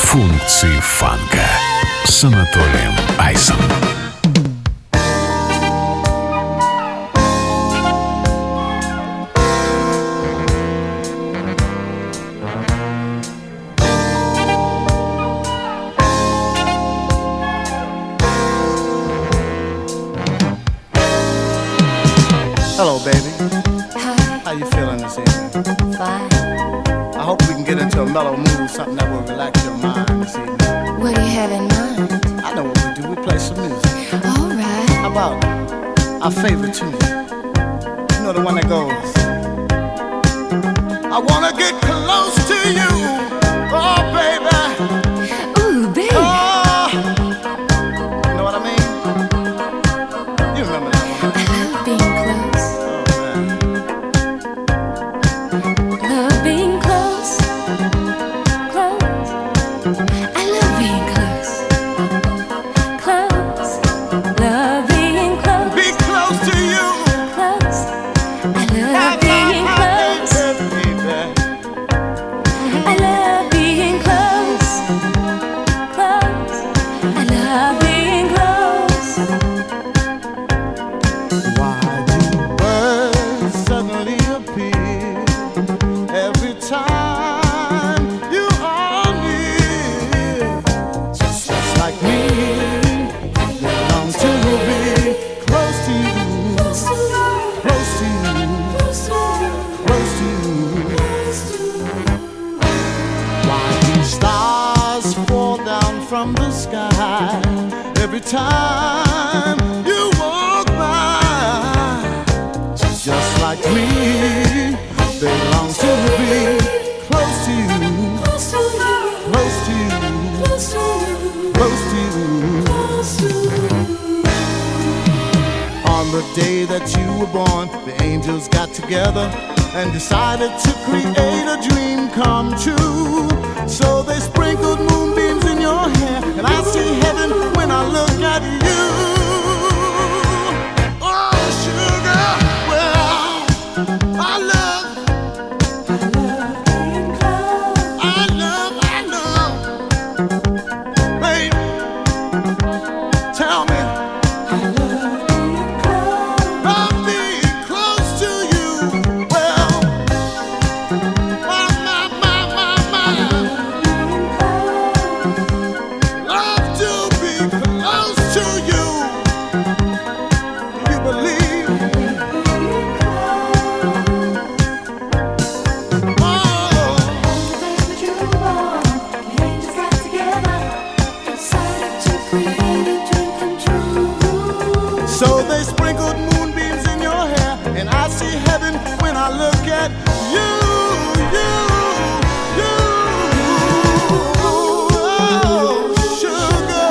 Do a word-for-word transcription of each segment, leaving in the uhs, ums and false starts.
Функции фанка с Анатолием Айсом. Hello, baby. Hi. How you feeling this evening? Fine. I hope we can get into a mellow mood, something that will relax your mind this evening. What do you have in mind? I know what we do. We play some music. All right. How about our favorite tune? You know the one that goes, I wanna get close to you, oh baby. Ooh, baby. Oh, you know what I mean? You remember that one? I love being close. Love being close. Close. I love being close. Close. Love being close. Be close to you. Close. I love being close. I love being close. Close. I love being close. Why do birds suddenly appear every time you are near? Just like me, they long to be close to you, close to you, close to you. Why do stars fall down from the sky every time you walk by? Just like me, they long to be close to you, close to you, close to you. On the day that you were born, the angels got together and decided to create a dream come true. So they sprinkled moonbeams in your hair, and I see heaven when I look at you. Oh, sugar, well, I love, I love, I love, babe, tell me, love being close to you. Well, my, my, my, my, my, love to be close to you. Do you believe? Oh, so they sprinkled moonbeams in your hair, and I see heaven when I look at you, you, you. Oh, sugar,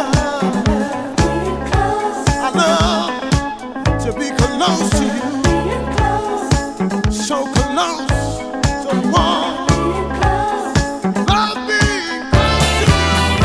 I love to be close to you, so close, so warm. Love being close to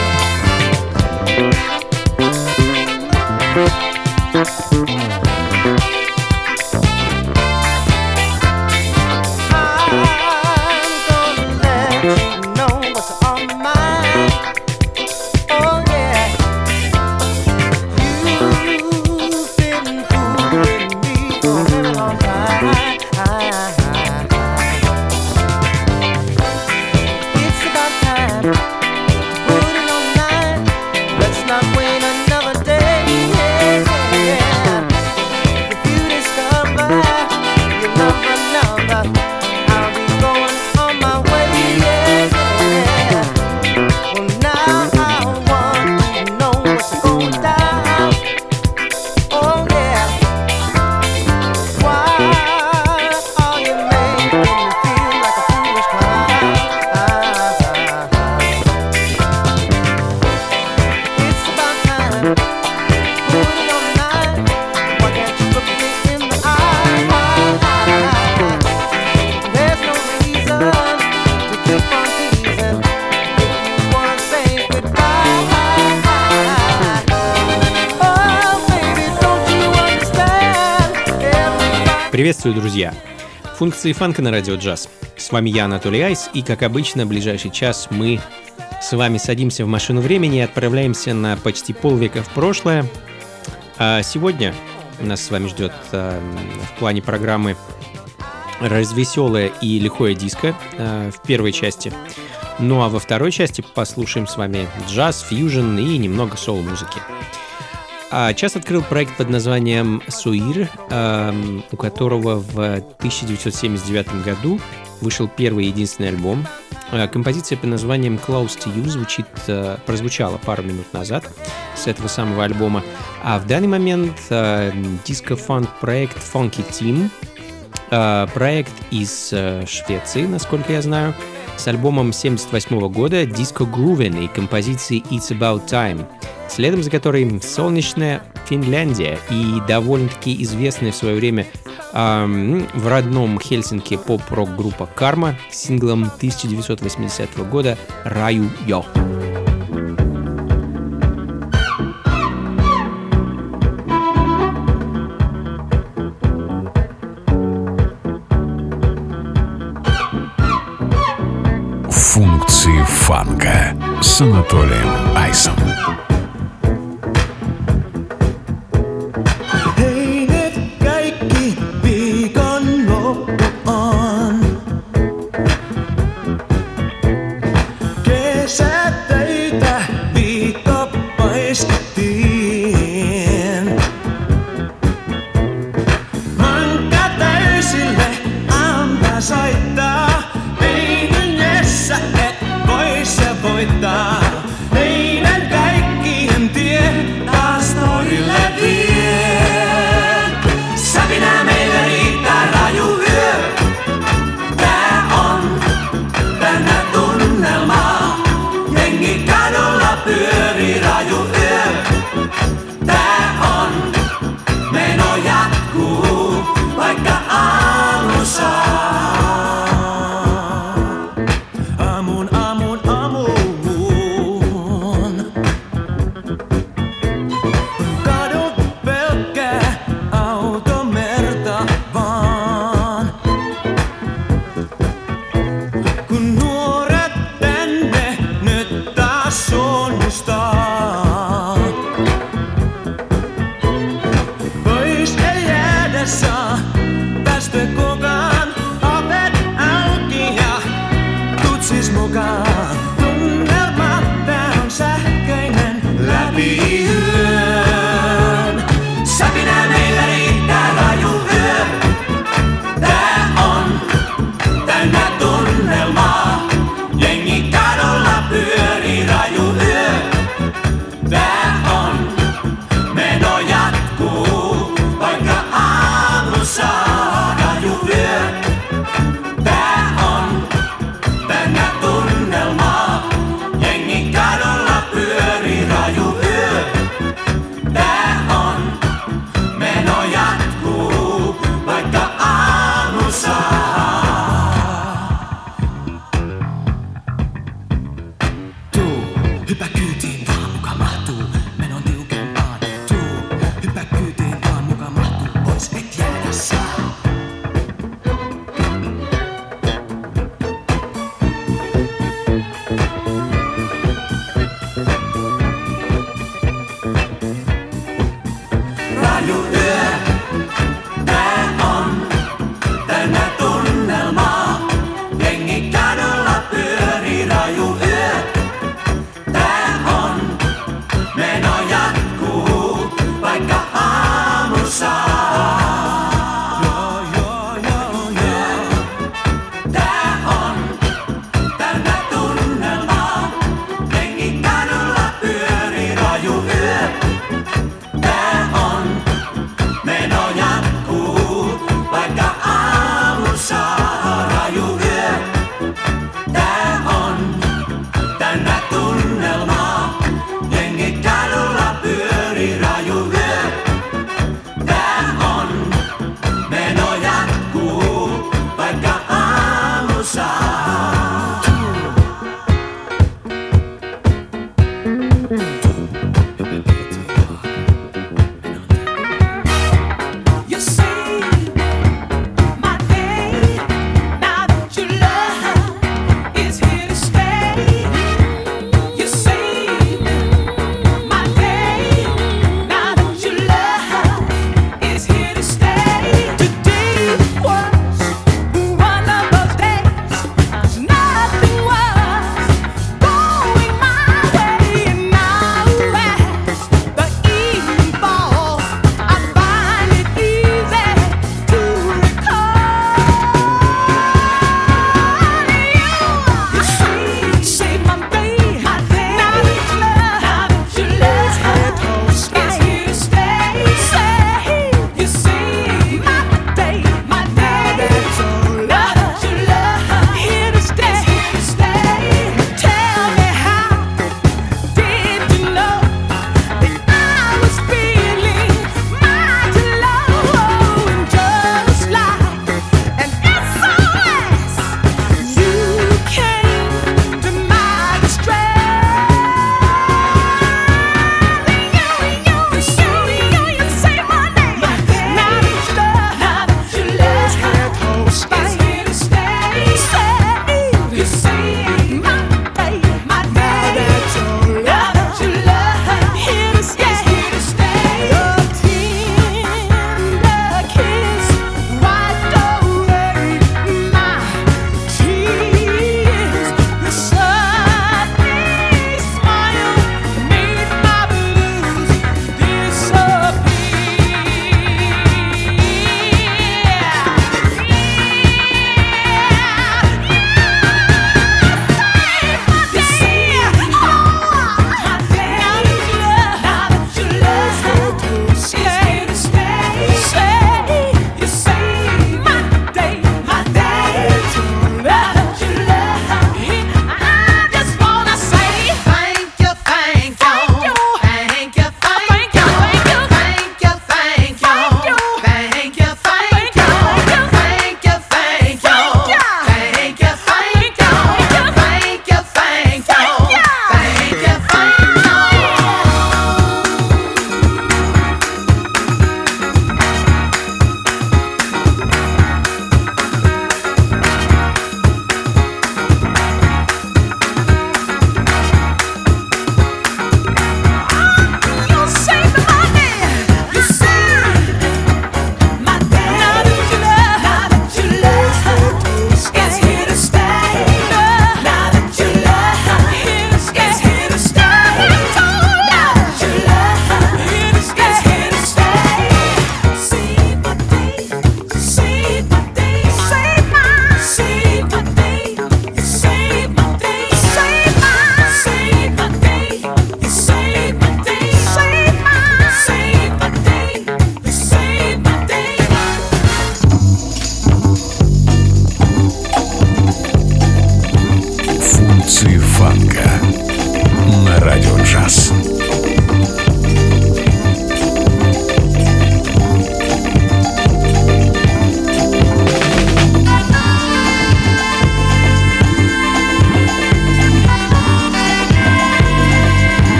Приветствую, друзья! Функции фанка на радио джаз. С вами я, Анатолий Айс, и, как обычно, в ближайший час мы с вами садимся в машину времени и отправляемся на почти полвека в прошлое. А сегодня нас с вами ждет а, в плане программы развеселое и лихое диско а, в первой части. Ну а во второй части послушаем с вами джаз, фьюжн и немного соул-музыки. А час открыл проект под названием «Суир», а, у которого в тысяча девятьсот семьдесят девятом году вышел первый и единственный альбом. Композиция под названием «Close to You» звучит, прозвучала пару минут назад с этого самого альбома. А в данный момент диско-фанк-проект Funky Team, проект из Швеции, насколько я знаю, с альбомом семьдесят восьмого года «Disco Groovin» и композицией «It's About Time», следом за которой солнечная Финляндия и довольно-таки известная в свое время эм, в родном Хельсинки поп-рок-группа «Карма» с синглом тысяча девятьсот восьмидесятого года «Раю Йо». Функции фанка с Анатолием Айсом. Jengi kadulla pyörii raju yö. Tää on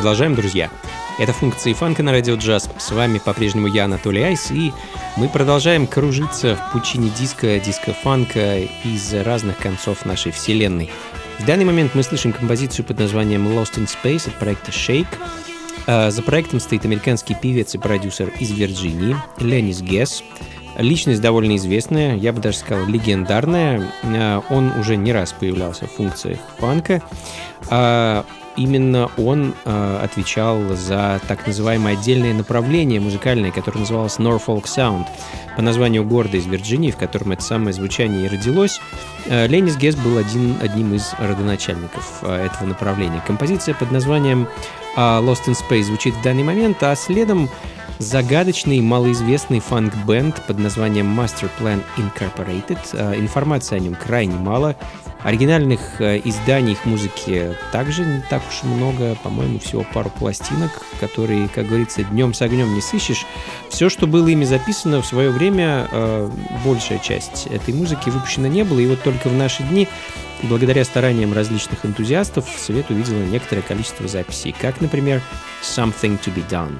продолжаем, друзья. Это функции фанка на радио джаз. С вами по-прежнему я, Анатолий Айс, и мы продолжаем кружиться в пучине диска, диско-фанка из разных концов нашей вселенной. В данный момент мы слышим композицию под названием Lost in Space от проекта Shake. За проектом стоит американский певец и продюсер из Вирджинии Ленис Гесс. Личность довольно известная, я бы даже сказал легендарная. Он уже не раз появлялся в функциях фанка. Именно он э, отвечал за так называемое отдельное направление музыкальное, которое называлось Norfolk Sound, по названию города из Вирджинии, в котором это самое звучание и родилось. Э, Ленис Гесс был один, одним из родоначальников э, этого направления. Композиция под названием э, Lost in Space звучит в данный момент, а следом загадочный малоизвестный фанк-бенд под названием Master Plan Incorporated. Э, информации о нем крайне мало. Оригинальных э, изданий их музыки также не так уж и много, по-моему, всего пару пластинок, которые, как говорится, днем с огнем не сыщешь. Все, что было ими записано в свое время, э, большая часть этой музыки выпущена не было, и вот только в наши дни, благодаря стараниям различных энтузиастов, свет увидело некоторое количество записей, как, например, Something to be Done.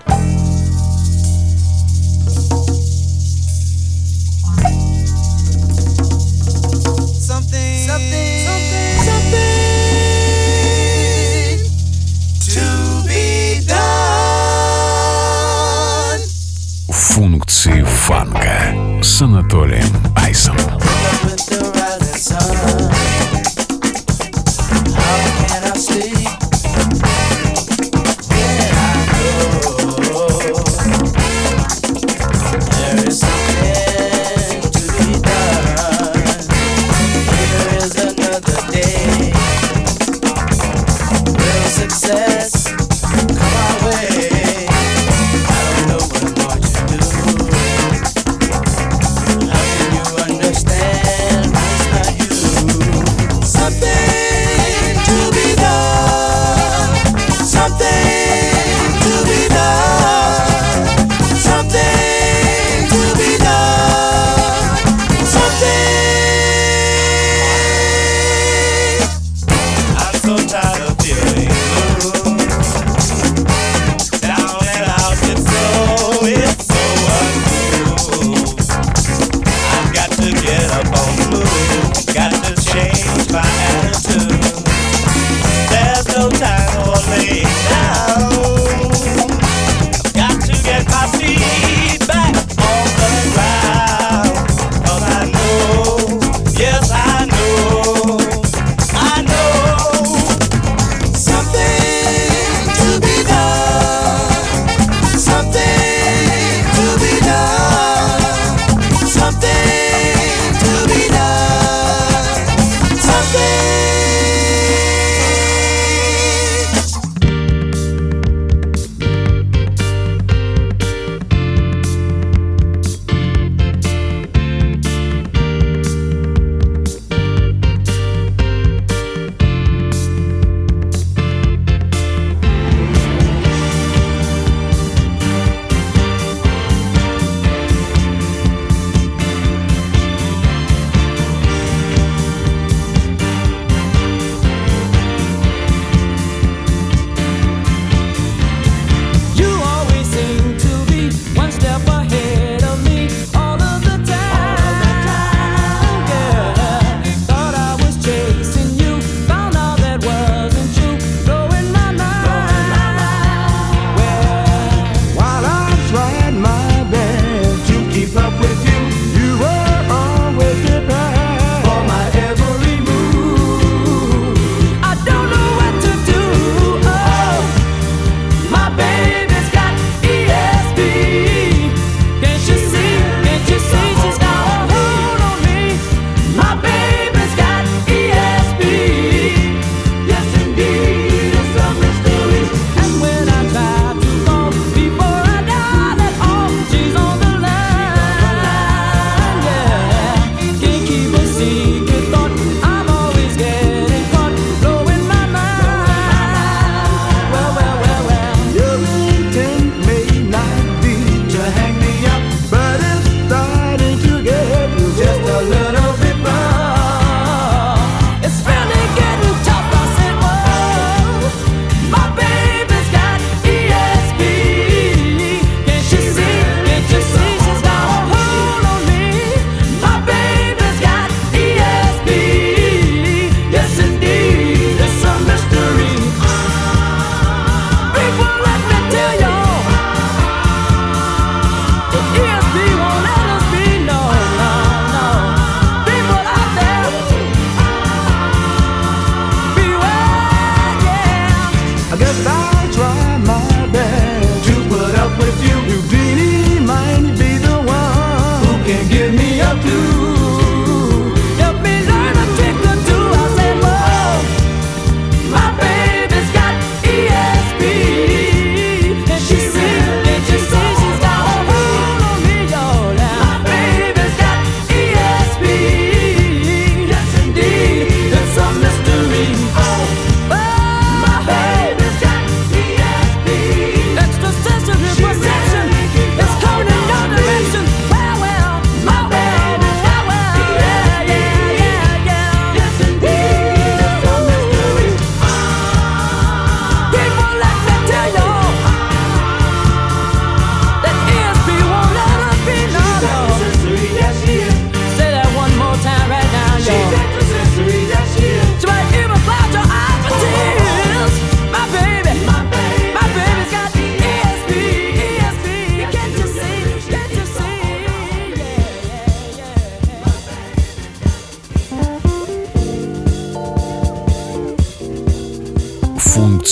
Something, something, something to be done. Функции фанка с Анатолием Айсом. With the rising sun, how can I sleep? Yeah, I know there is something to be done. Here is another day. Will success come our way? I don't know what more to do. How can you understand? It's not you.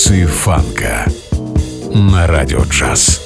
функции фанка на Радио Джаз.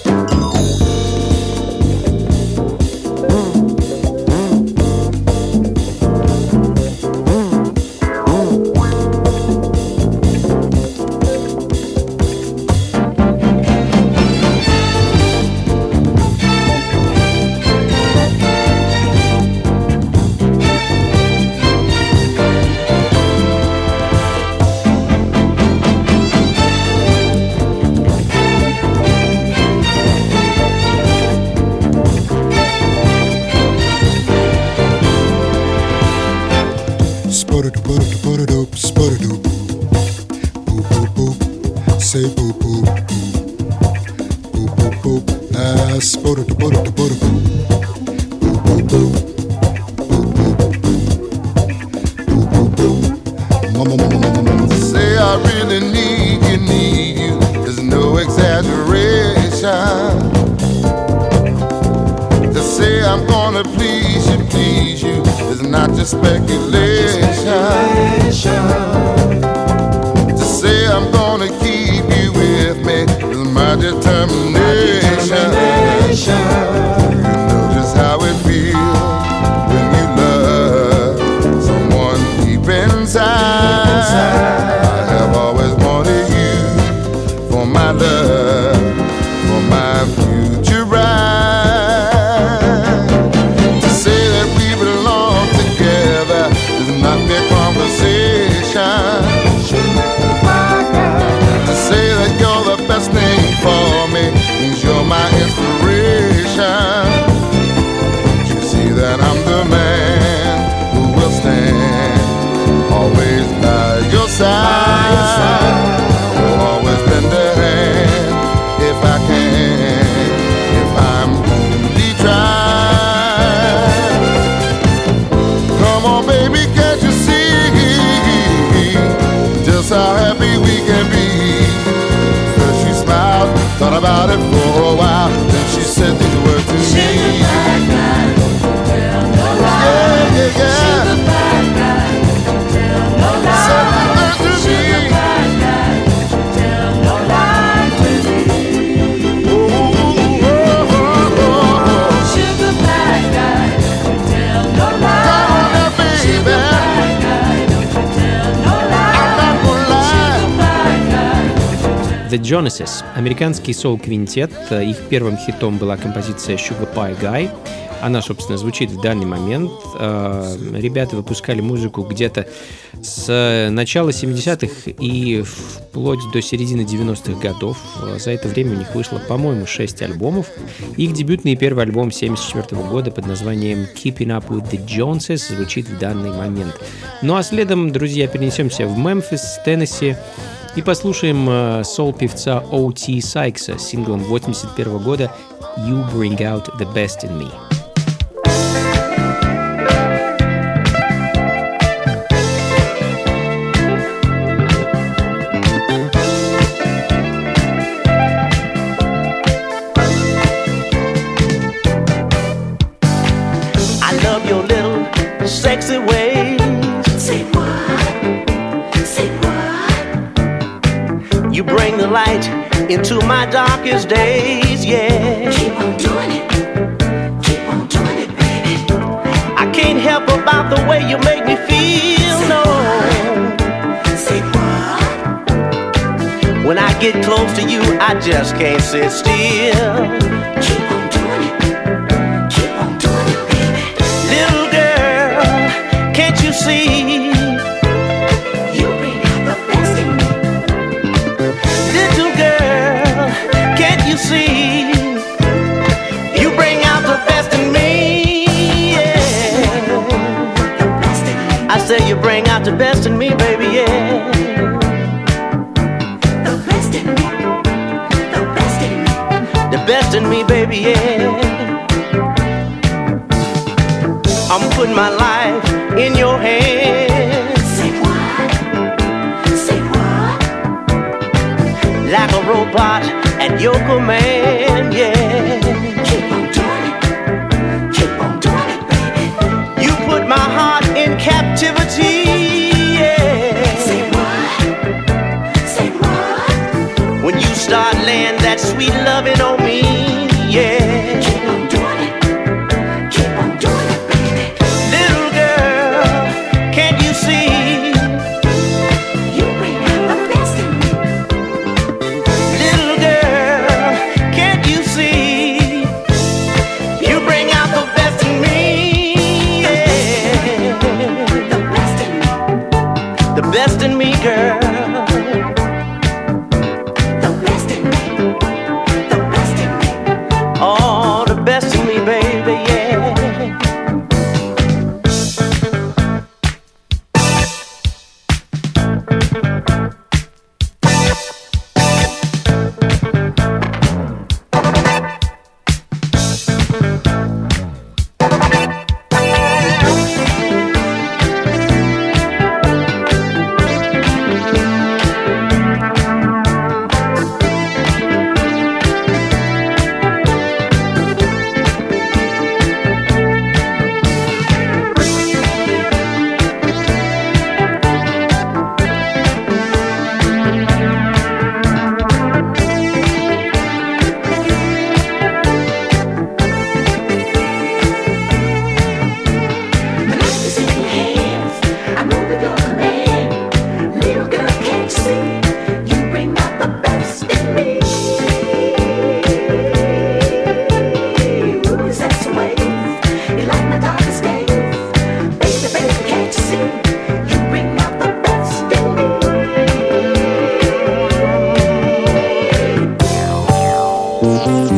Say boop boop boop boop boop boop. Ah, spotter to butter to butter boop boop boop boop boop boop boop. Mama mama mama mama. Say I really need you, need you. There's no exaggeration. To say I'm gonna please you, please you is not just speculation. To say I'm gonna keep you with me is my determination. You know just how it feels when you love someone deep inside. I have always wanted you for my love, for my future ride. To say that we belong together is not mere conversation. To say that you're the best thing for me means you're my inspiration. You see that I'm the man who will stand always by your side. Will always lend a hand if I can, if I'm only trying. Come on, baby, can't you see just how happy we can be? First she smiled, thought about it for a while, then she said these words to me. Yeah, yeah, yeah. Said these words to me. Ooh, ooh, oh, oh, oh. Come on now, baby. I'm not gonna lie. The Jonases, американский соул-квинтет. Их первым хитом была композиция Sugar Pie Guy. Она, собственно, звучит в данный момент. Ребята выпускали музыку где-то с начала семидесятых и вплоть до середины девяностых годов. За это время у них вышло, по-моему, шесть альбомов. Их дебютный первый альбом семьдесят четвёртого года под названием Keeping Up With The Joneses звучит в данный момент. Ну а следом, друзья, перенесемся в Мемфис, Теннесси, и послушаем соул-певца О Ти Сайкса с синглом восемьдесят первого года You Bring Out The Best In Me. I love your little sexy ways. Say what? Say what? You bring the light into my darkest days, yeah. Keep on doing it. Keep on doing it, baby. I can't help about the way you make me feel, no. Say what? When I get close to you, I just can't sit still. Keep on doing it. Keep on doing it, baby. Little girl, can't you see? You bring out the best in me. Little girl, can't you see? You bring out the best in me, yeah. The best in me. I say you bring out the best in me, baby, yeah. The best in me. The best in me. The best in me, baby, yeah. I'm putting my life in your hands. Say what? Say what? Like a robot at your command, yeah. Keep on doing it. Keep on doing it, baby. You put my heart in captivity, yeah. Say what? Say what?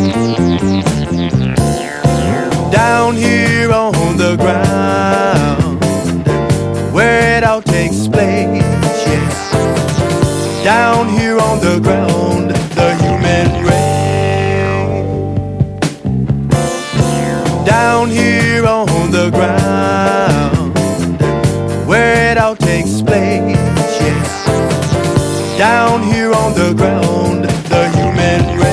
Down here on the ground, where it all takes place, yeah. Down here on the ground, the human race. Down here on the ground, where it all takes place, yeah. Down here on the ground, the human race.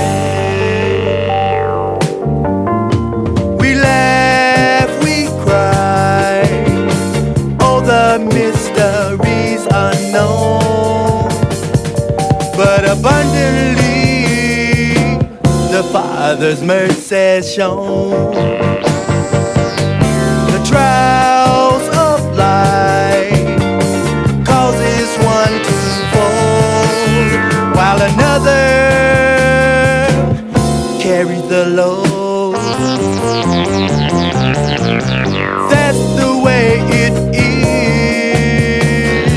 We laugh, we cry, all the mysteries unknown, but abundantly the Father's mercy shown. The trials of life causes one to fall, while another carries the load. That's the way it is.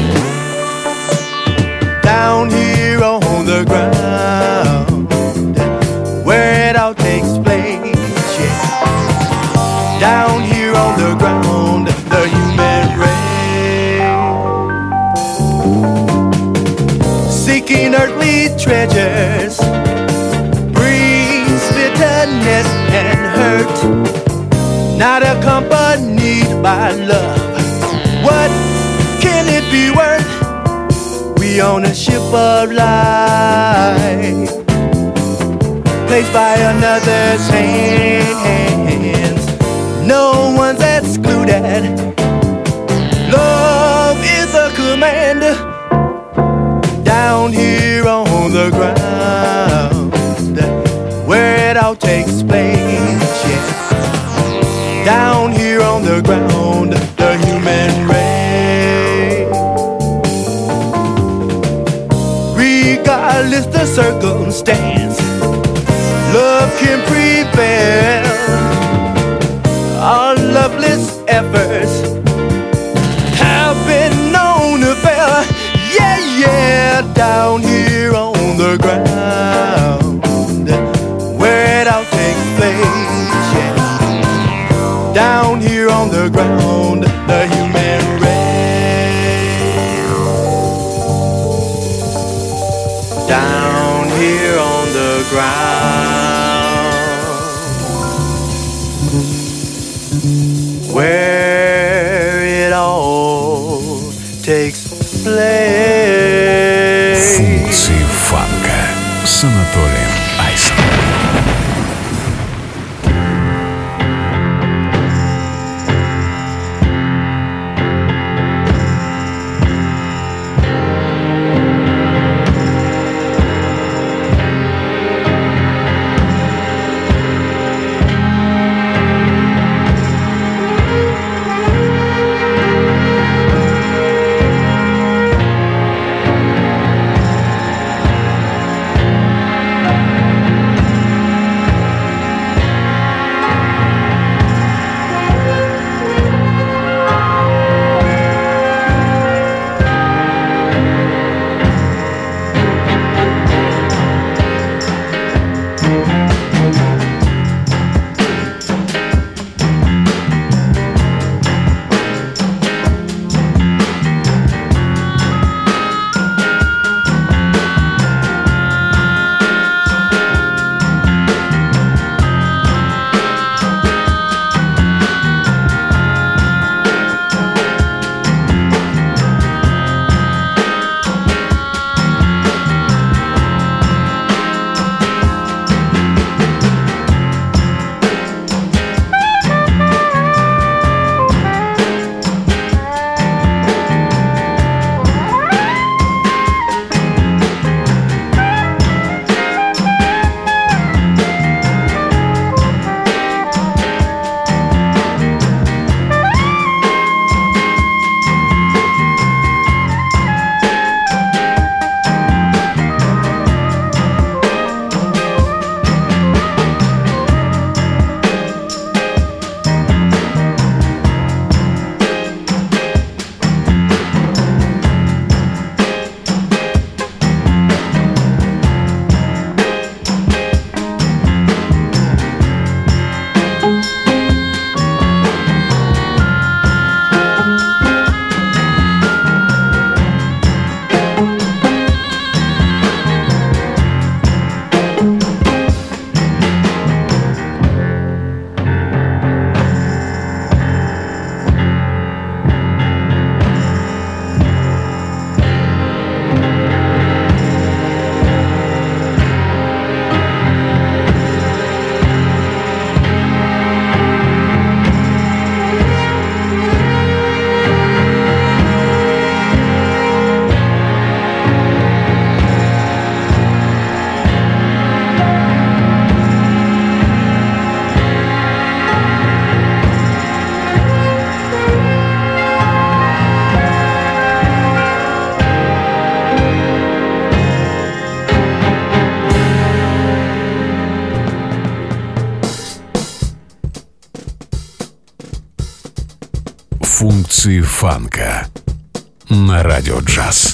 Down here on the ground, where it all takes place, yeah. Down here on the ground, the human race. Seeking earthly treasures brings bitterness and hurt, not accompanied by love. What can it be worth? We own a ship of life, placed by another's hands. No one's excluded. Love is a command. Down here on the ground, where it all takes place, yeah. Down here on the ground, the human race. Regardless the circumstance, love can prevail. Our loveless efforts have been known to fail. Yeah, yeah, down here on the ground, where it all takes place, yeah. Down here on the ground, the human race. Down here on the ground, where it all takes place. Функции фанка на Радио Джаз.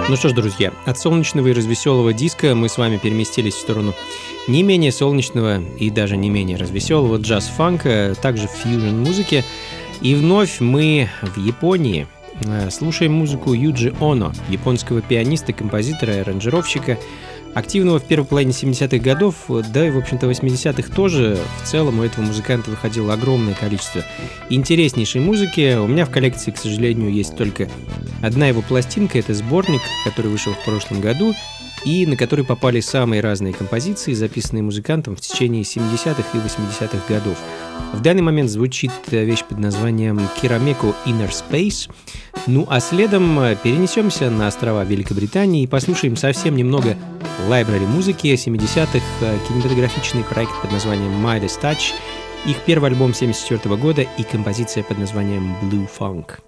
Ну что ж, друзья, от солнечного и развеселого диска мы с вами переместились в сторону не менее солнечного и даже не менее развеселого джаз-фанка, также фьюжн-музыки. И вновь мы в Японии слушаем музыку Юджи Оно, японского пианиста, композитора и аранжировщика, активного в первой половине семидесятых годов, да и, в общем-то, восьмидесятых тоже. В целом у этого музыканта выходило огромное количество интереснейшей музыки. У меня в коллекции, к сожалению, есть только одна его пластинка. Это сборник, который вышел в прошлом году, и на который попали самые разные композиции, записанные музыкантом в течение семидесятых и восьмидесятых годов. В данный момент звучит вещь под названием «Кирамеко Inner Space». Ну а следом перенесемся на острова Великобритании и послушаем совсем немного лайбрари музыки семидесятых, кинематографичный проект под названием Midas Touch, их первый альбом семьдесят четвёртого года и композиция под названием Blue Funk.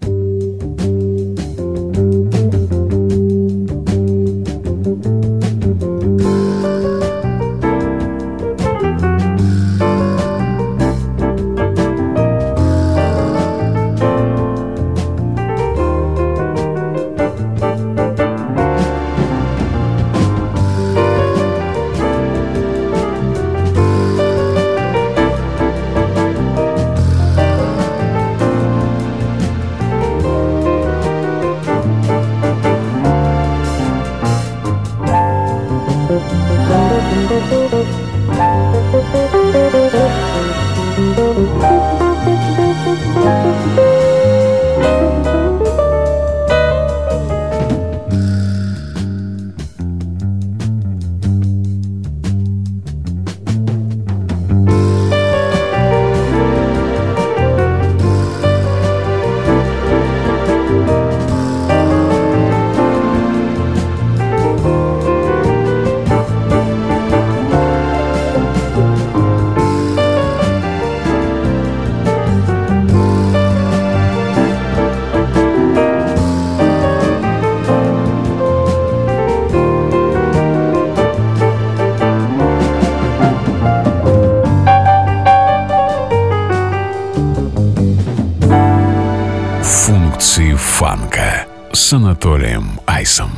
Фанка с Анатолием Айсом.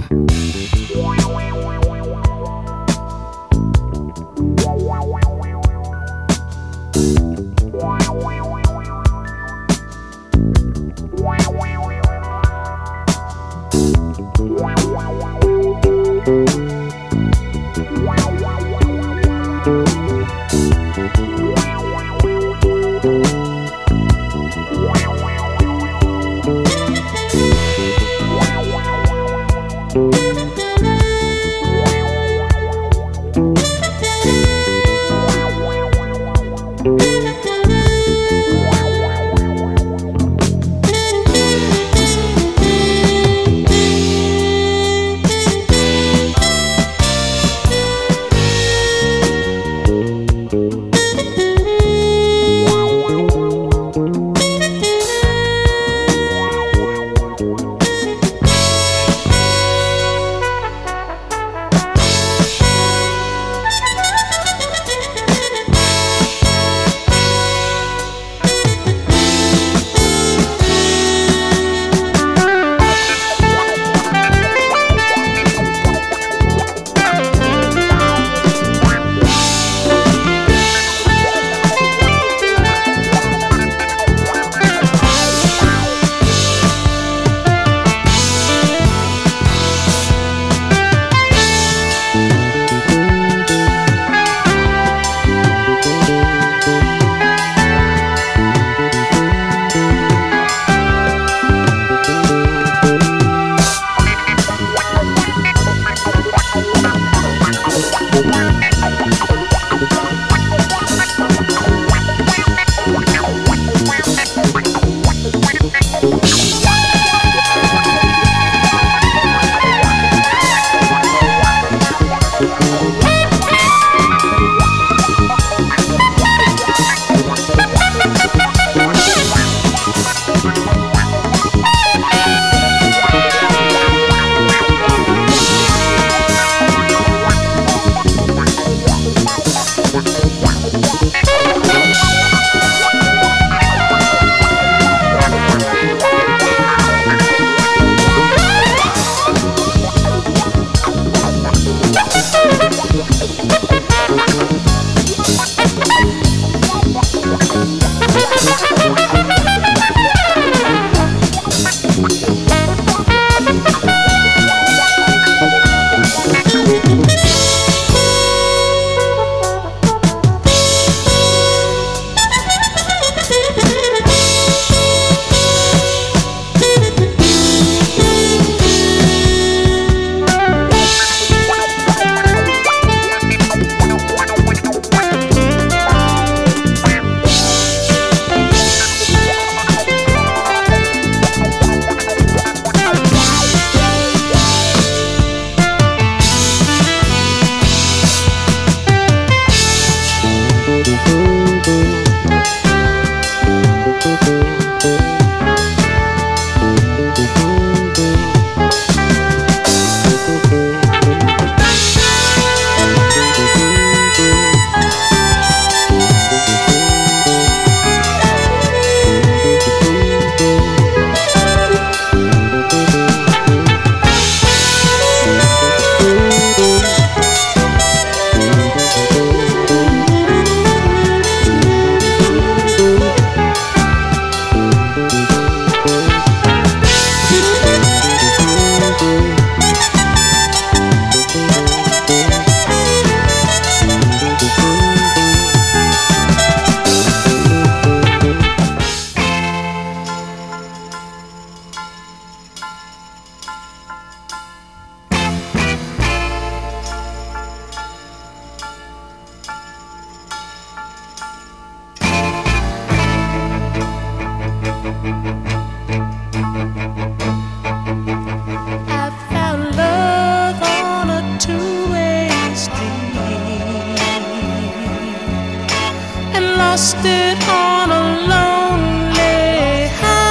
Lost it on a lonely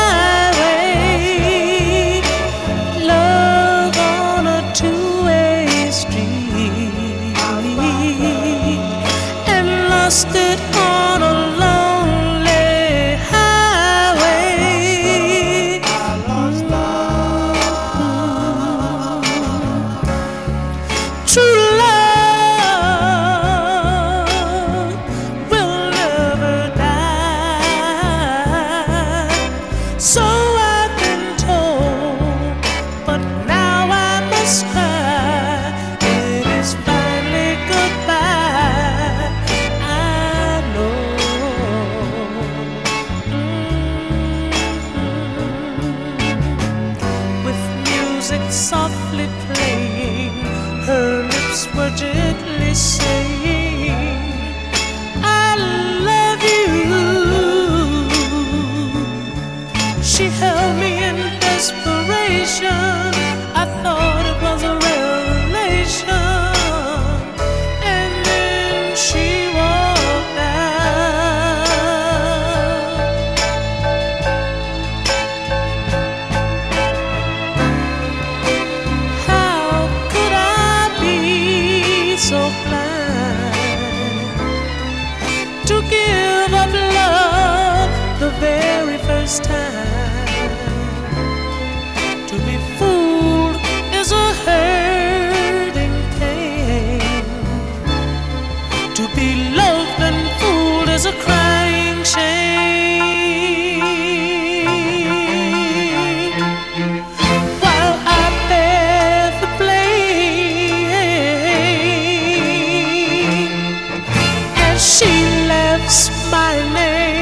highway, love on a two-way street, and lost it on a lonely highway. I lost love. True love. So I've been told, but now I must cry. It is finally goodbye. I know. Mm-hmm. With music softly playing, her lips were gently saying, I love you. She held me in desperation. I thought it was a revelation. And then she walked out. How could I be so blind to give up love the very first time? To be fooled is a hurting pain. To be loved and fooled is a crying shame. While I bear the blame, as she laughs my name.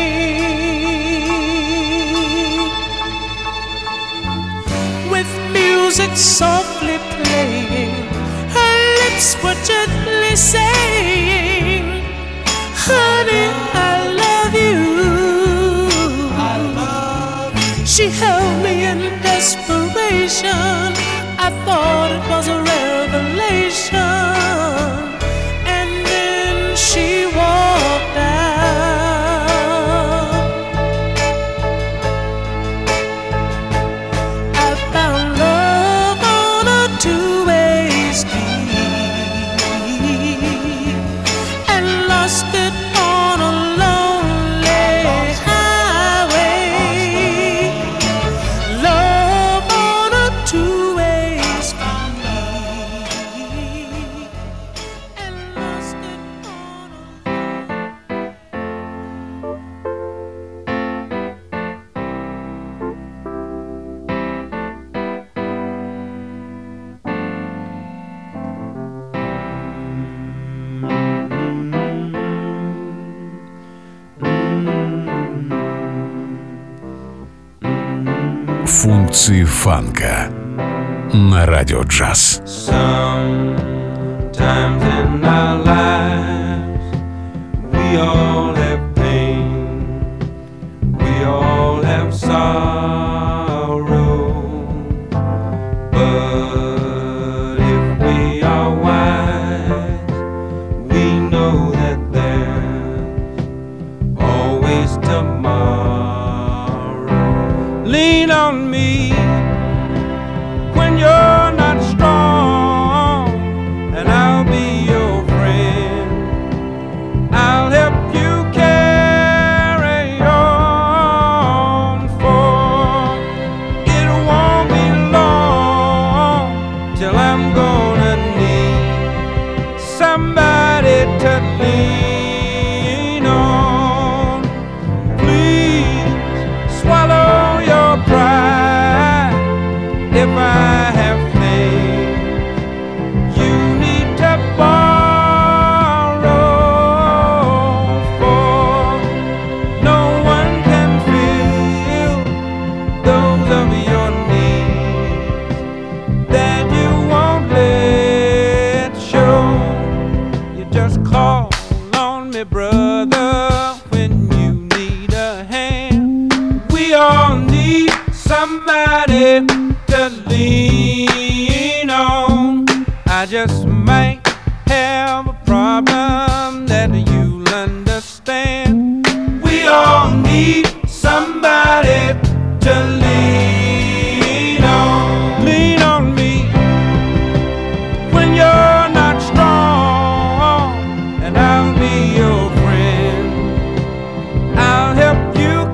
Music softly playing, her lips were gently saying, honey, I love you. I love you. She held me in desperation. I thought it was a revelation. And then she walked out. I found love on a two-way street and lost it on a lonely highway. Love on a two-way street and lost it on Функции фанка на радио джаз. Sometimes in our lives we all have pain, we all have sorrow, but if we are wise, we know that there's always tomorrow. Lean on me when you're not strong, and I'll be your friend. I'll help you carry on, for it won't be long till I'm gonna need somebody to lean on. Please swallow your pride. to lean on, lean on me when you're not strong, and I'll be your friend. I'll help you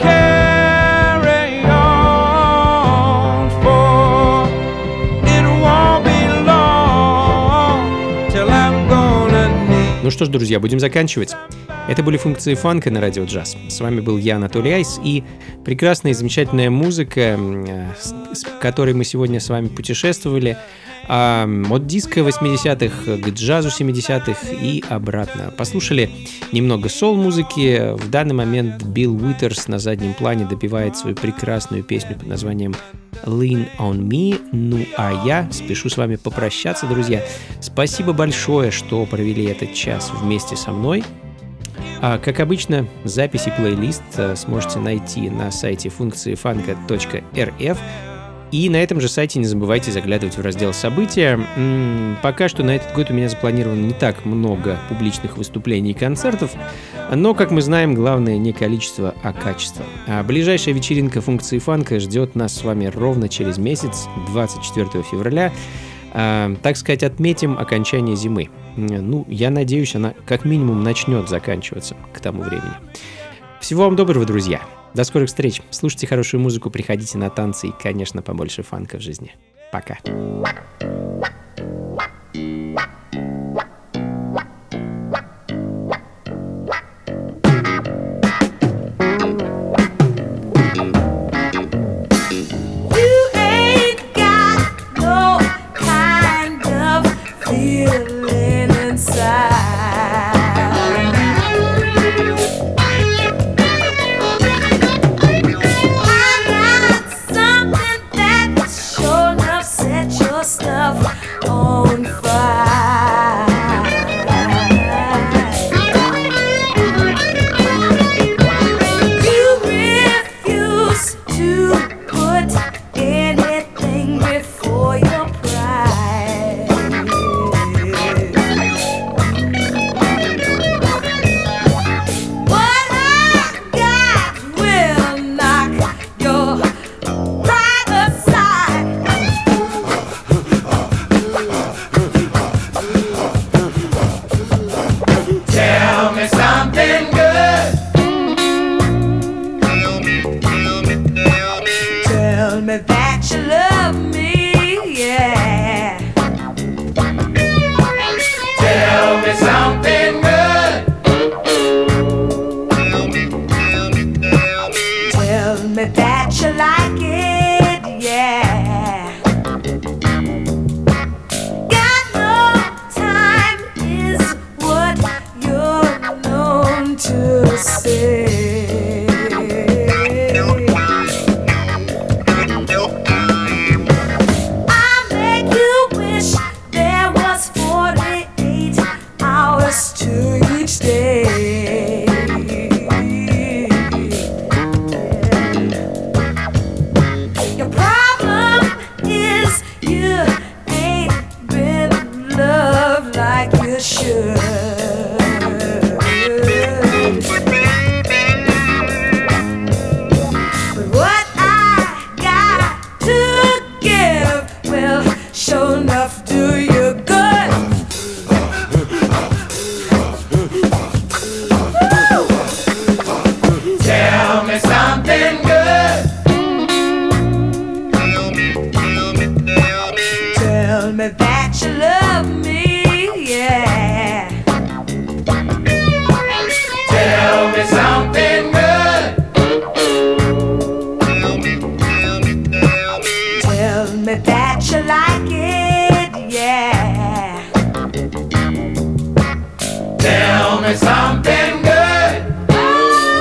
carry on, for it won't be long till I'm gonna need. Ну что ж, друзья, будем заканчивать. Это были функции фанка на Радио Джаз. С вами был я, Анатолий Айс, и прекрасная и замечательная музыка, с которой мы сегодня с вами путешествовали, от диска восьмидесятых к джазу семидесятых и обратно. Послушали немного сол-музыки. В данный момент Билл Уитерс на заднем плане допевает свою прекрасную песню под названием Lean on Me. Ну а я спешу с вами попрощаться, друзья. Спасибо большое, что провели этот час вместе со мной. А, как обычно, запись и плейлист сможете найти на сайте функции фанка точка эр эф. И на этом же сайте не забывайте заглядывать в раздел «События». М-м, пока что на этот год у меня запланировано не так много публичных выступлений и концертов, но, как мы знаем, главное не количество, а качество. А ближайшая вечеринка функции фанка ждет нас с вами ровно через месяц, двадцать четвёртого февраля. А, так сказать, отметим окончание зимы. Ну, я надеюсь, она как минимум начнет заканчиваться к тому времени. Всего вам доброго, друзья! До скорых встреч. Слушайте хорошую музыку, приходите на танцы и, конечно, побольше фанка в жизни. Пока.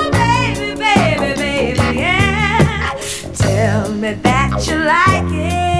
Tell me that you like it.